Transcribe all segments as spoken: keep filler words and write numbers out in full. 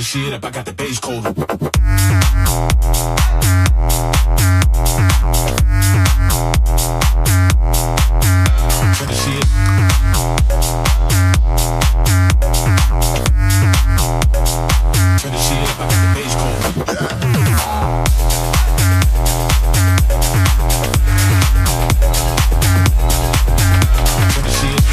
the shit up, I got the bass cold. Turn the shit. Turn the shit up, I got the bass cold. Turn the shit.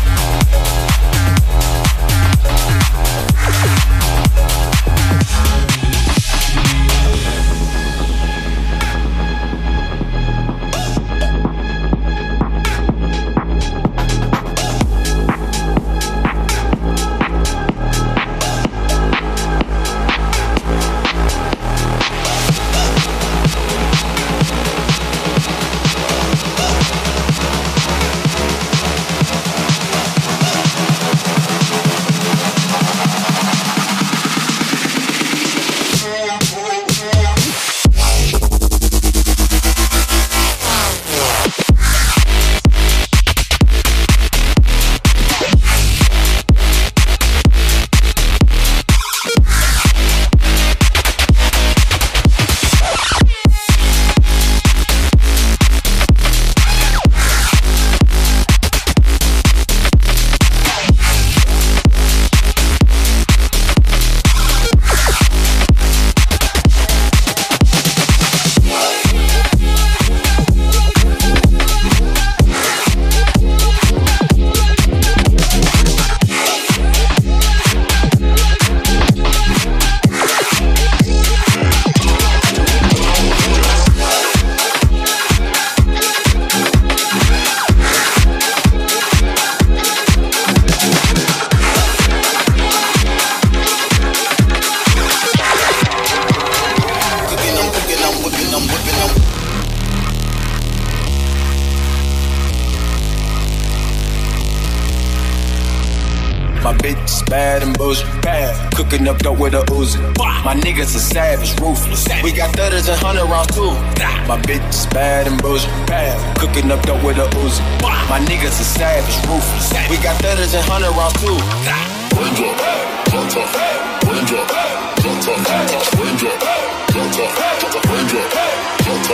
Cooking up dope with a Uzi. My niggas are savage, ruthless. We got thudders and hundred rounds too. My bitch is bad and bullshit. Cooking up dope with a Uzi. My niggas are savage, ruthless. We got thudders and hundred rounds too. Wind up, jump up, wind up, jump up, wind up, jump up, wind up, jump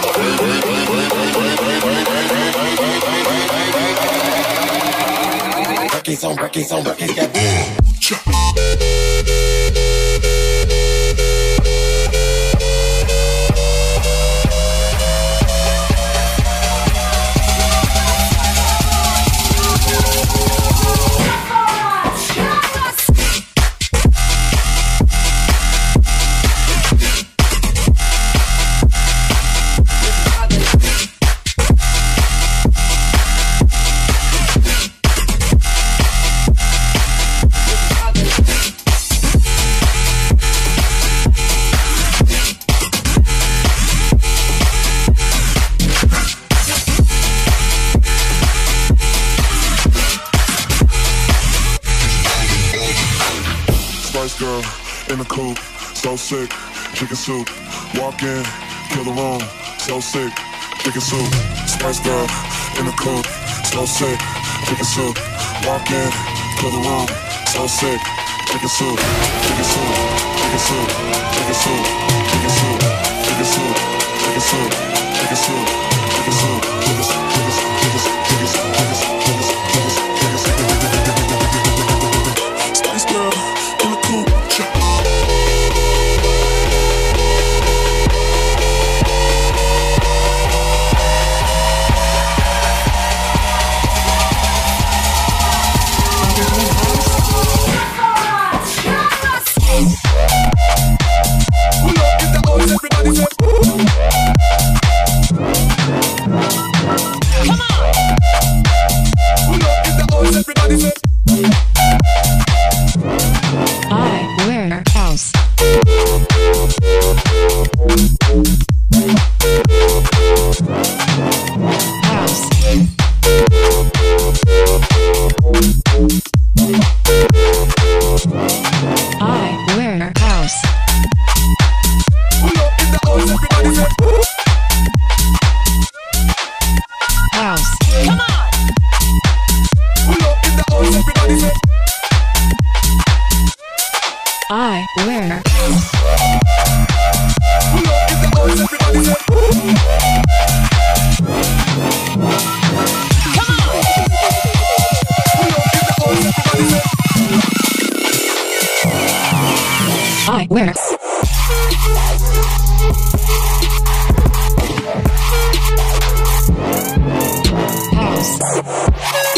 up. Records on records on records, got girl in the coupe, so sick, chicken soup. Walk in, kill the room, so sick, chicken soup. Spice girl in the coupe, so sick, chicken soup. Walk in, kill the room, so sick, chicken soup, chicken soup, chicken soup, chicken soup, chicken soup, chicken soup, chicken soup, chicken soup, chicken soup, chicken soup, chicken soup, chicken soup, chicken soup, chicken soup, chicken soup, chicken soup, chicken soup. Spice girl in the coupe. Everybody say, come on! Pull up in the house, everybody say. I wear house. House. I wear house. Pull up in the house, everybody say. House. Come on! Pull up in the house, everybody say. I wear. I wear. House.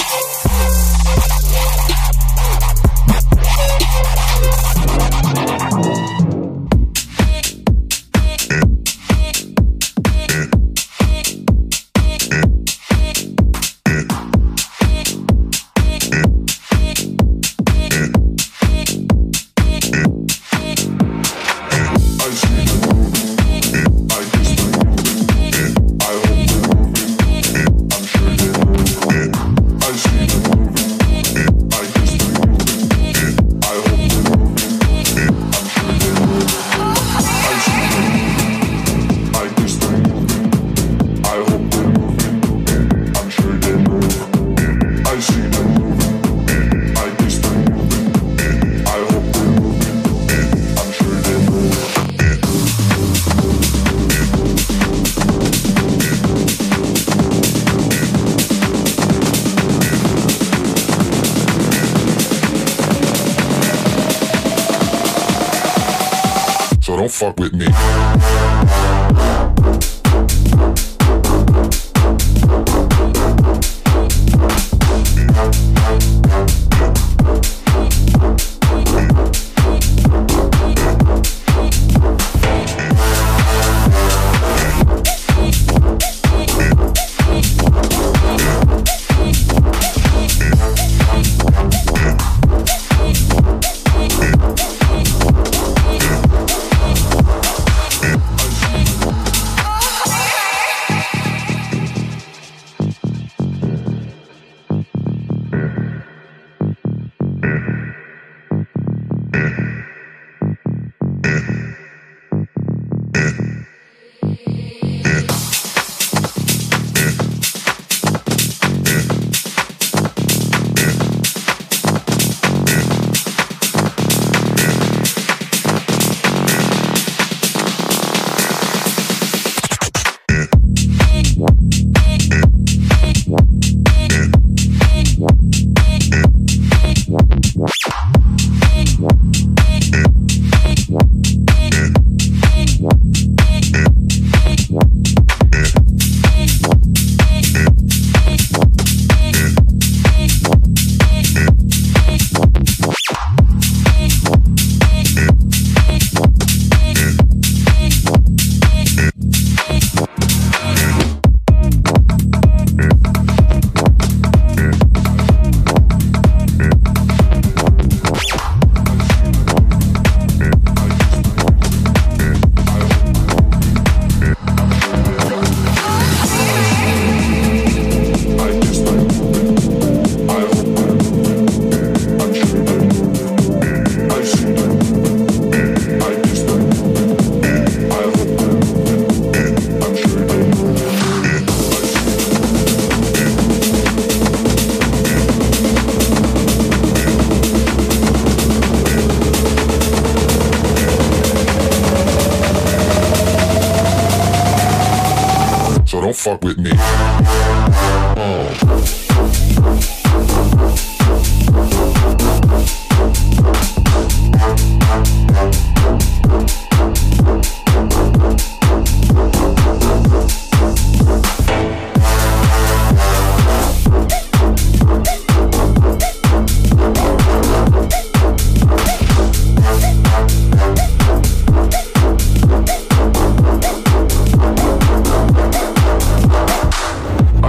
Don't fuck with me. So don't fuck with me. Oh. I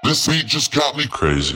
This beat just got me crazy.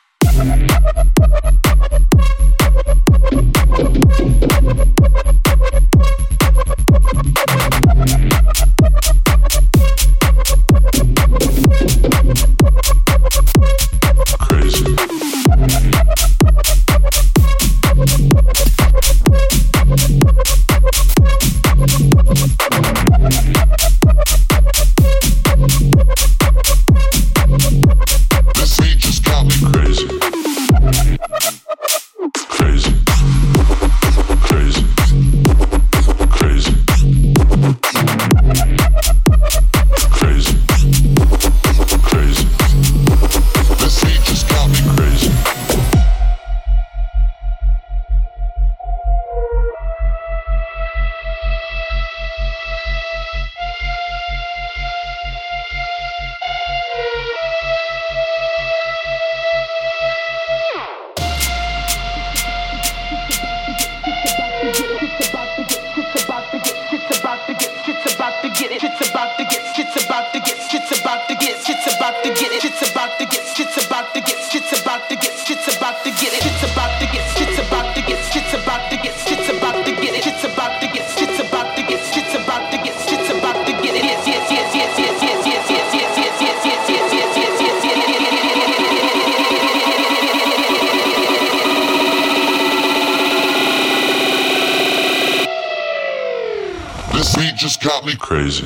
This beat just got me crazy.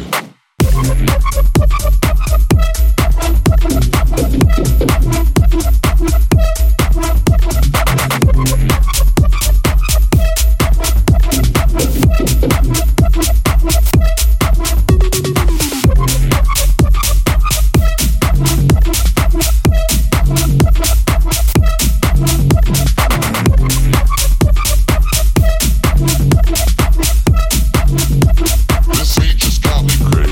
This beat just got me crazy.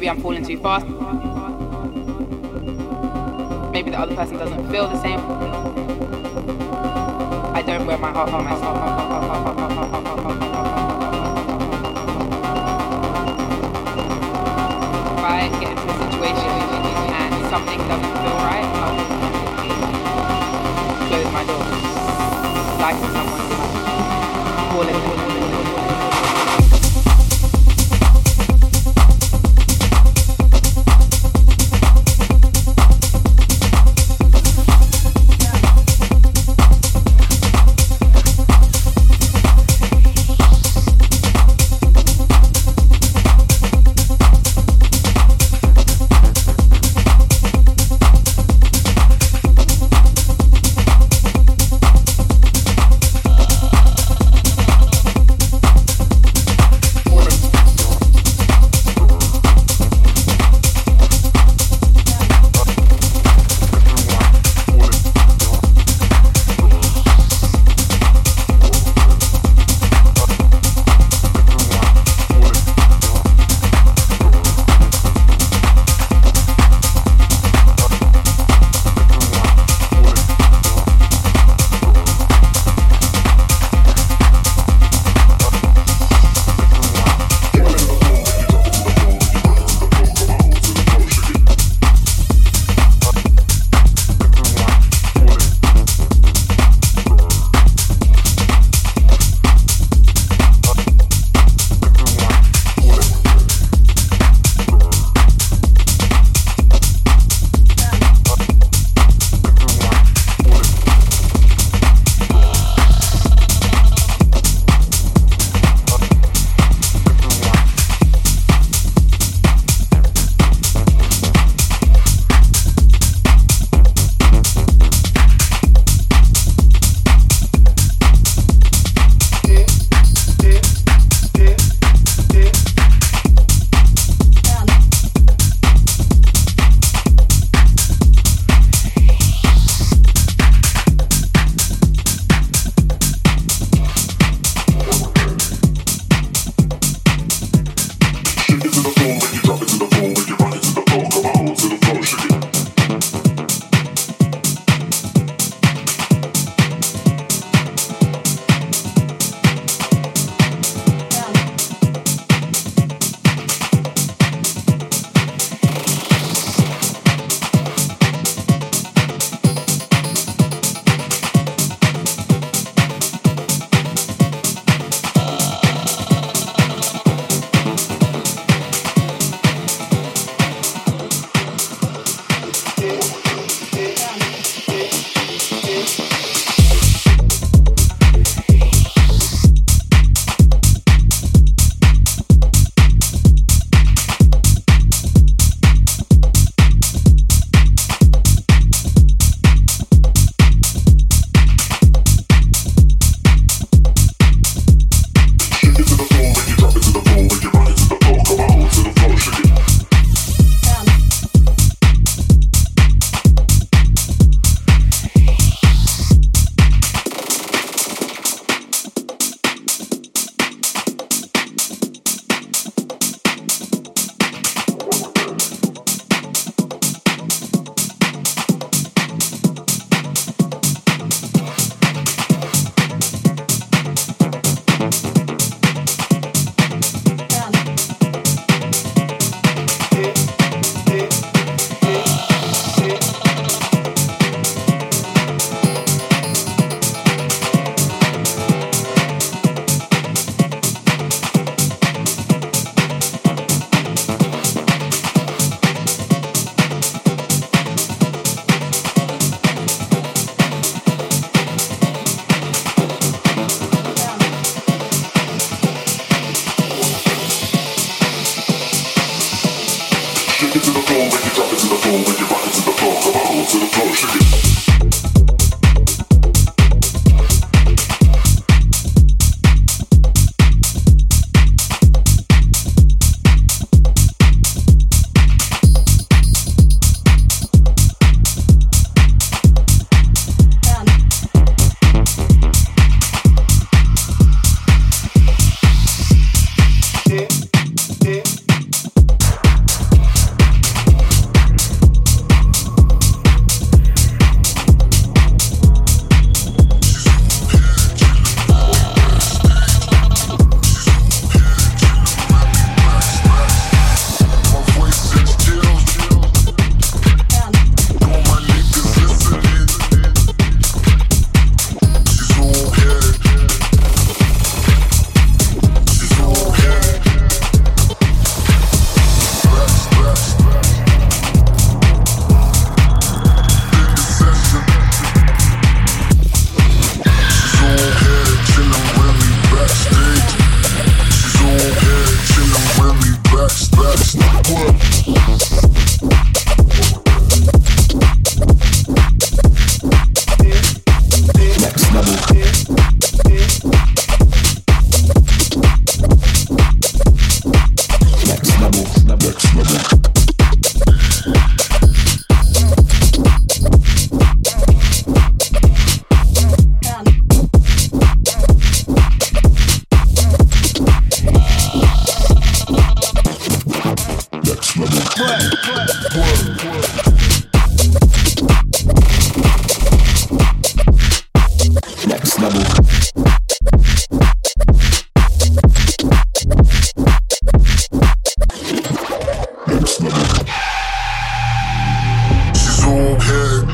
Maybe I'm falling too fast. Maybe the other person doesn't feel the same. I don't wear my heart on myself. If I get into a situation and something doesn't feel right, I'll close my door. Like someone, call it. Next level. Next level. She's on head.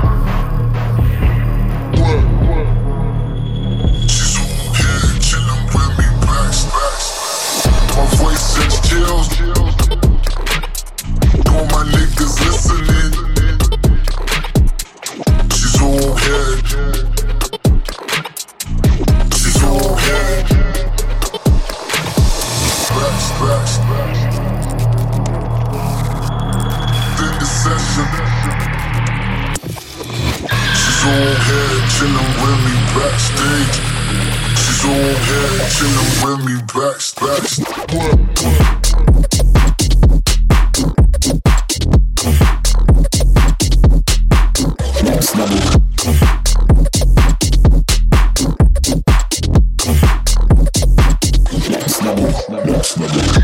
She's on head, chillin' with me, back, back. My voice sends chills. All my niggas listening. She's on head. She's on head. Back, back. Then the session. She's on head, chillin' with me backstage. She's on head, chillin' with me backstage. Next level. Next level. Next level.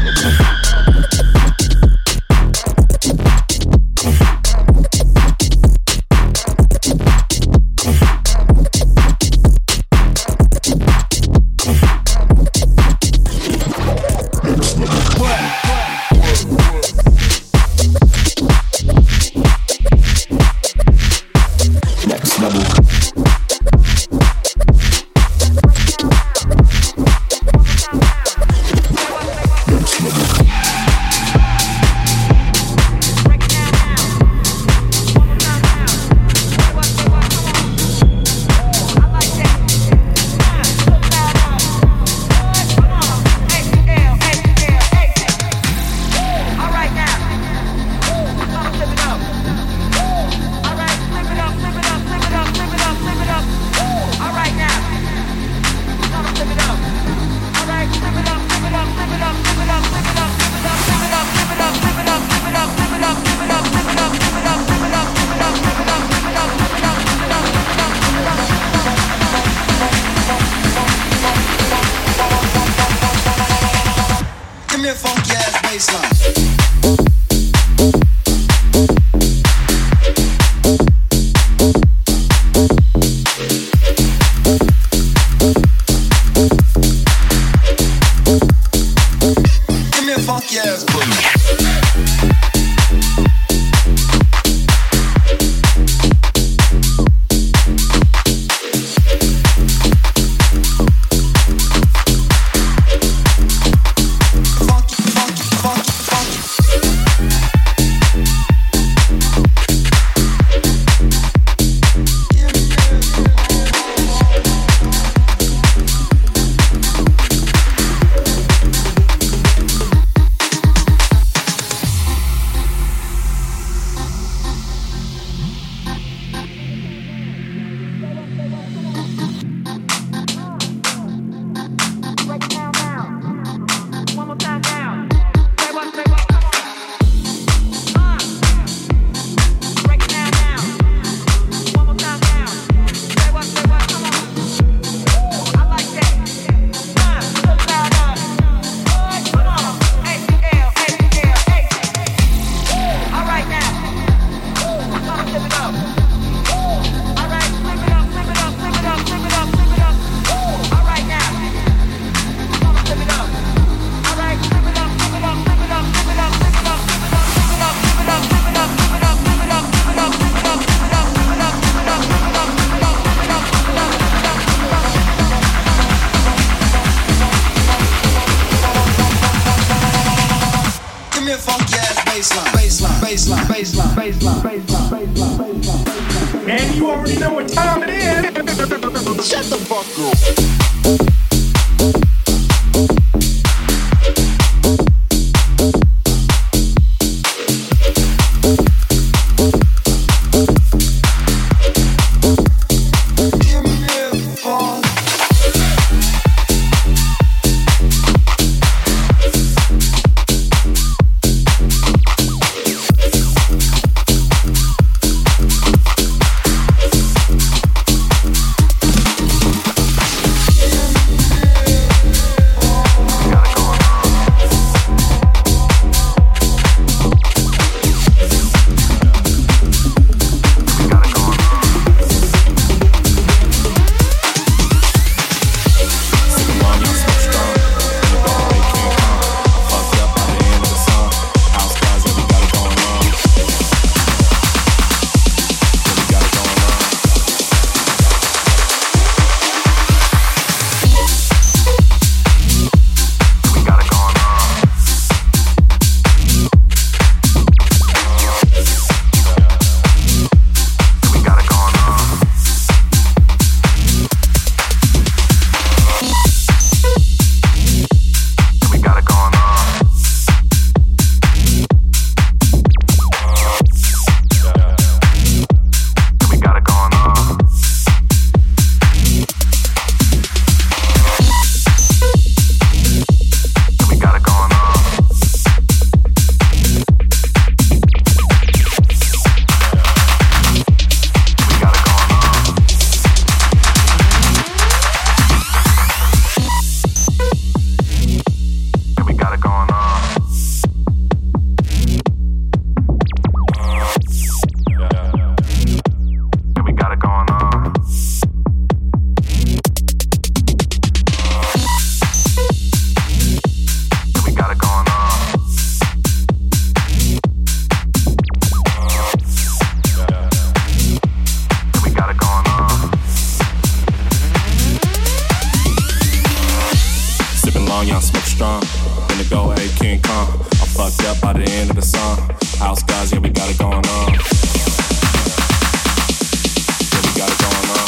And you already know what time it is. Shut the fuck up. finna go, hey, King Kong. I'm fucked up by the end of the song. House guys, yeah, we got it going on. Yeah, we got it going on.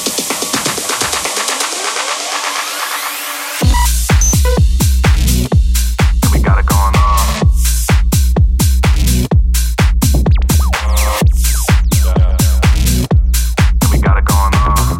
Yeah, we got it going on. Yeah, we got it going on.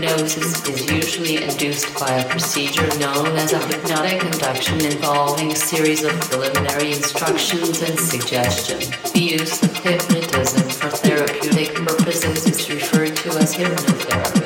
hypnosis is usually induced by a procedure known as a hypnotic induction involving a series of preliminary instructions and suggestion. The use of hypnotism for therapeutic purposes is referred to as hypnotherapy.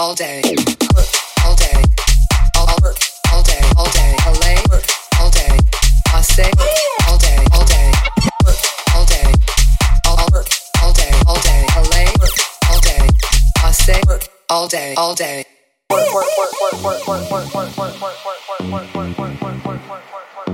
all day, work all day, all work all day, all day, L A work all day, I say work all day, all day, work all day, all work all day, all day, L A work all day, I say work all day, all day. Work work work work work work work work work work work work work work work work work.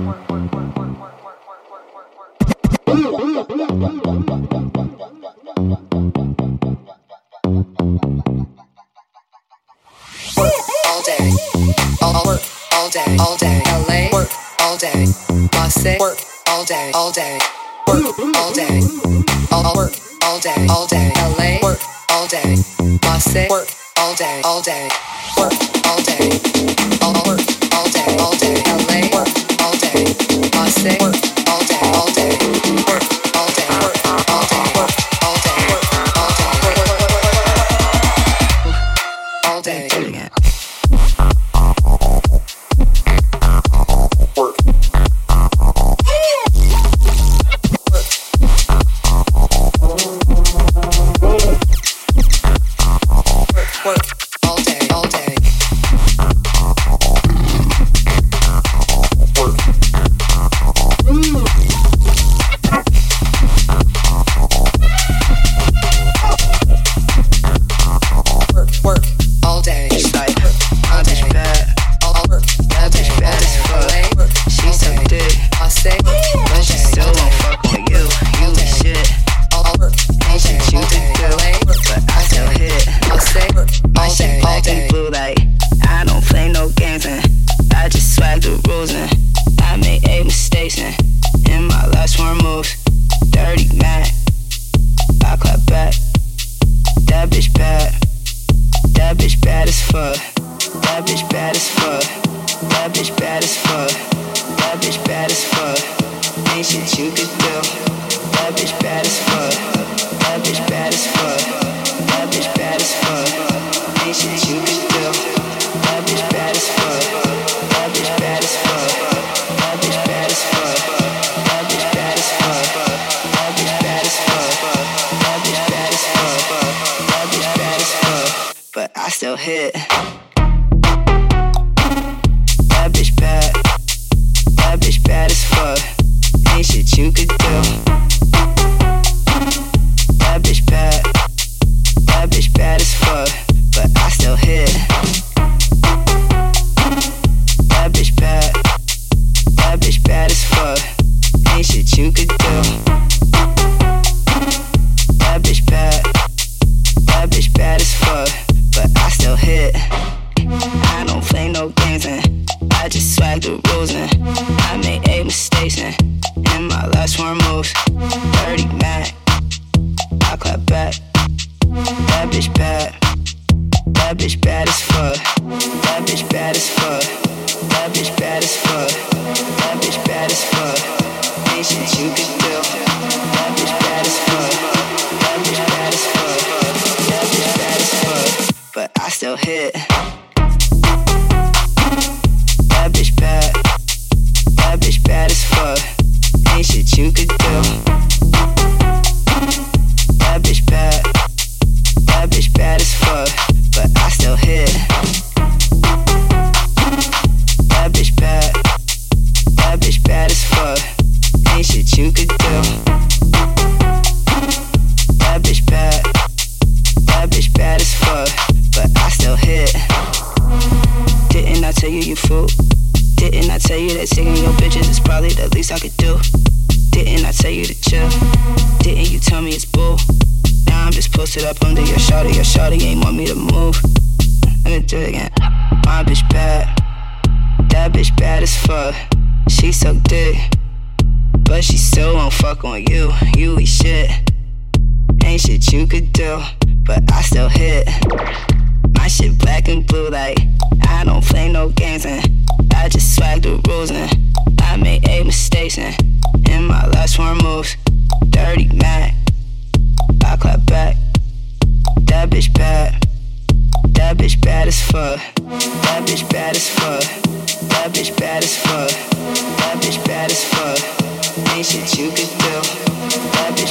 All day, all work, all day, all day, L A work, all day, Marseille work, all day, all day, work, all day, all work, all day, all day, L A work, all day, Marseille work, all day, all day, work, all day, all work, all day, all day, L A work, all day, Marseille work, all day, all day, work, all day, work, all day, work, all day, work, all day, work, all day, all day.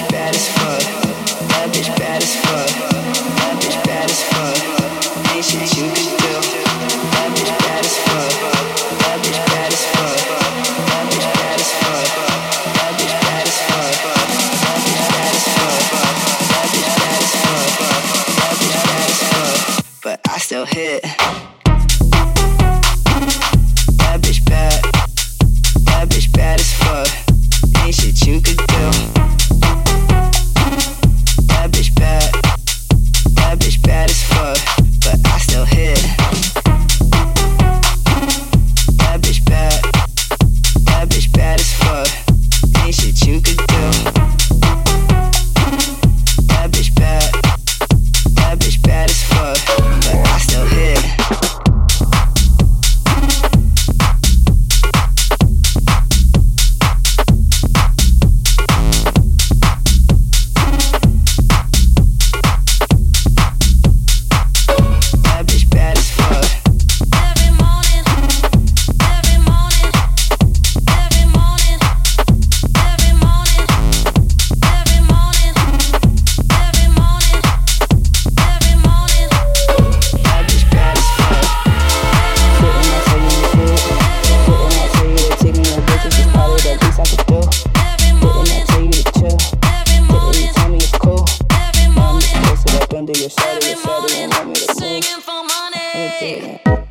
That bitch bad as fuck. That bitch bad as fuck. Ain't shit you still hit. That bitch bad. That bitch bad as fuck. Ain't shit you could do. That bitch bad. That bitch bad as fuck. But I still hit. That bitch bad. That bitch bad as fuck. Ain't shit you could do. That bitch bad. That bitch bad as fuck. But I still hit. Under your shadow, your shadow, and want me to move. Singing for money.